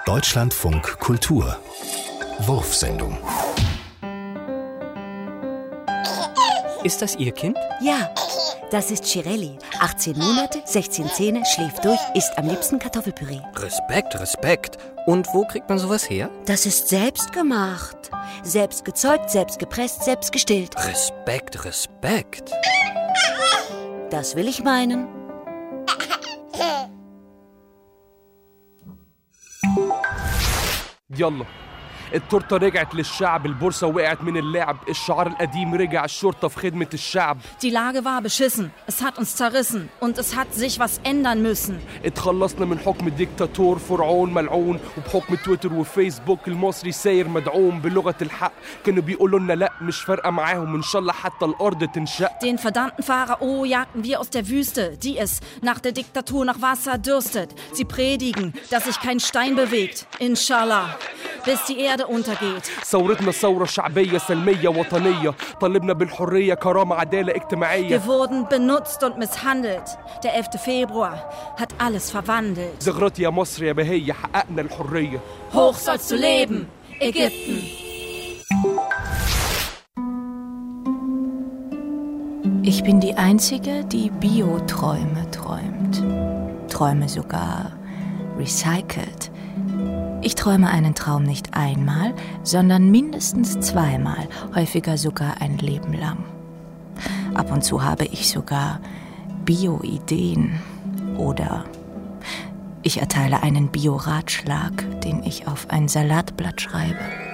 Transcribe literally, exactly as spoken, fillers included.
Deutschlandfunk Kultur Wurfsendung. Ist das Ihr Kind? Ja, das ist Shirelli. achtzehn Monate, sechzehn Zähne, schläft durch, isst am liebsten Kartoffelpüree. Respekt, Respekt. Und wo kriegt man sowas her? Das ist selbst gemacht. Selbst gezeugt, selbst gepresst, selbst gestillt. Respekt, Respekt. Das will ich meinen. يلا التورته رجعت للشعب، البورصه وقعت من اللعب، الشعار القديم رجع، الشرطه في خدمه الشعب. Die Lage war beschissen, es hat uns zerrissen und es hat sich was ändern müssen. اتخلصنا من حكم الدكتاتور فرعون ملعون، وبحكم تويتر وفيسبوك المصري ساير مدعوم بلغه الحق. كانوا بيقولوا لنا لا مش فارقه معاهم، ان شاء الله حتى الارض تنشق. Den verdammten Pharao jagten wir aus der Wüste, die es nach der Diktatur nach Wasser dürstet. Sie predigen, dass sich kein Stein bewegt, inshallah, bis die Erde untergeht. ثورتنا ثورة شعبية سلمية وطنية، طالبنا بالحرية كرامة عدالة اجتماعية. Wir wurden benutzt und misshandelt. Der elfte Februar hat alles verwandelt. زغرتي يا مصر يا بهية، حققنا الحرية. Hoch sollst du leben, Ägypten. Ich bin die Einzige, die Bioträume träumt. Träume sogar recycelt. Ich träume einen Traum nicht einmal, sondern mindestens zweimal, häufiger sogar ein Leben lang. Ab und zu habe ich sogar Bio-Ideen oder ich erteile einen Bio-Ratschlag, den ich auf ein Salatblatt schreibe.